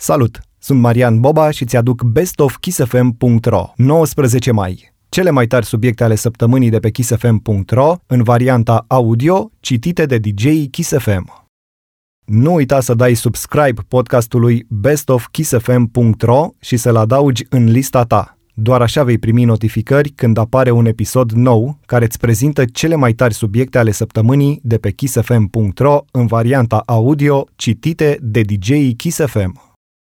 Salut! Sunt Marian Boba și ți-aduc bestofkissfm.ro. 19 mai. Cele mai tari subiecte ale săptămânii de pe kissfm.ro în varianta audio, citite de DJ-ii Kiss FM. Nu uita să dai subscribe podcastului bestofkissfm.ro și să-l adaugi în lista ta. Doar așa vei primi notificări când apare un episod nou care îți prezintă cele mai tari subiecte ale săptămânii de pe kissfm.ro în varianta audio, citite de DJ-ii Kiss FM.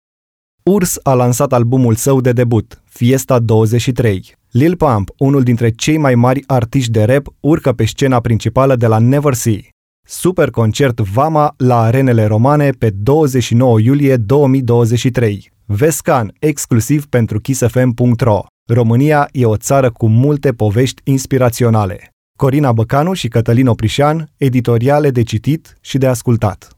Urs a lansat albumul său de debut, Fiesta 23. Lil Pump, unul dintre cei mai mari artiști de rap, urcă pe scena principală de la Never See. Super concert Vama la Arenele Romane pe 29 iulie 2023. Vescan, exclusiv pentru kissfm.ro. România e o țară cu multe povești inspiraționale. Corina Băcanu și Cătălin Oprișan, editoriale de citit și de ascultat.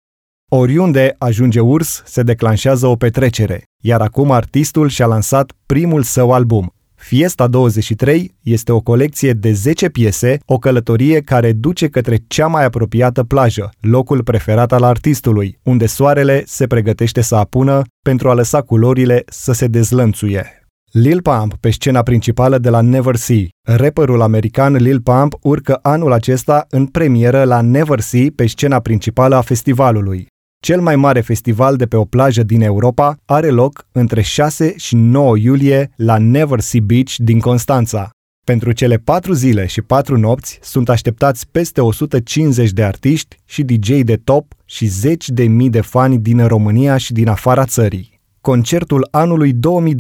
Oriunde ajunge Urs, se declanșează o petrecere, iar acum artistul și-a lansat primul său album. Fiesta 23 este o colecție de 10 piese, o călătorie care duce către cea mai apropiată plajă, locul preferat al artistului, unde soarele se pregătește să apună pentru a lăsa culorile să se dezlănțuie. Lil Pump pe scena principală de la Never See. Rapperul american Lil Pump urcă anul acesta în premieră la Never See pe scena principală a festivalului. Cel mai mare festival de pe o plajă din Europa are loc între 6 și 9 iulie la Never Sea Beach din Constanța. Pentru cele 4 zile și 4 nopți sunt așteptați peste 150 de artiști și DJ de top și zeci de mii de fani din România și din afara țării. Concertul anului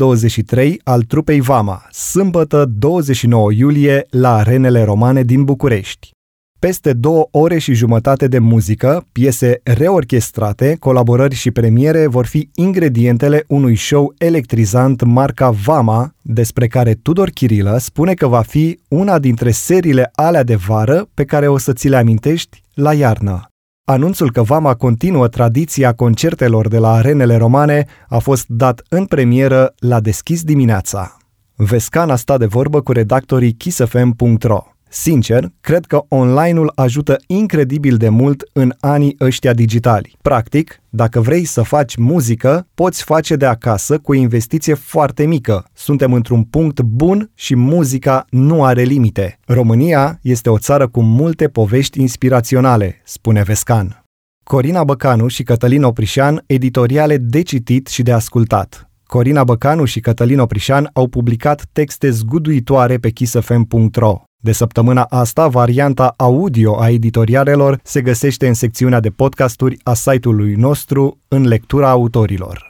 2023 al trupei Vama, sâmbătă 29 iulie la Arenele Romane din București. Peste 2 ore și jumătate de muzică, piese reorchestrate, colaborări și premiere vor fi ingredientele unui show electrizant marca Vama, despre care Tudor Chirilă spune că va fi una dintre seriile alea de vară pe care o să ți le amintești la iarnă. Anunțul că Vama continuă tradiția concertelor de la Arenele Romane a fost dat în premieră la Deschis dimineața. Vescan a stat de vorbă cu redactorii kissfm.ro. Sincer, cred că online-ul ajută incredibil de mult în anii ăștia digitali. Practic, dacă vrei să faci muzică, poți face de acasă cu o investiție foarte mică. Suntem într-un punct bun și muzica nu are limite. România este o țară cu multe povești inspiraționale, spune Vescan. Corina Băcanu și Cătălin Oprișan, editoriale de citit și de ascultat. Corina Băcanu și Cătălin Oprișan au publicat texte zguduitoare pe kissfm.ro. De săptămâna asta, varianta audio a editorialelor se găsește în secțiunea de podcasturi a site-ului nostru în lectura autorilor.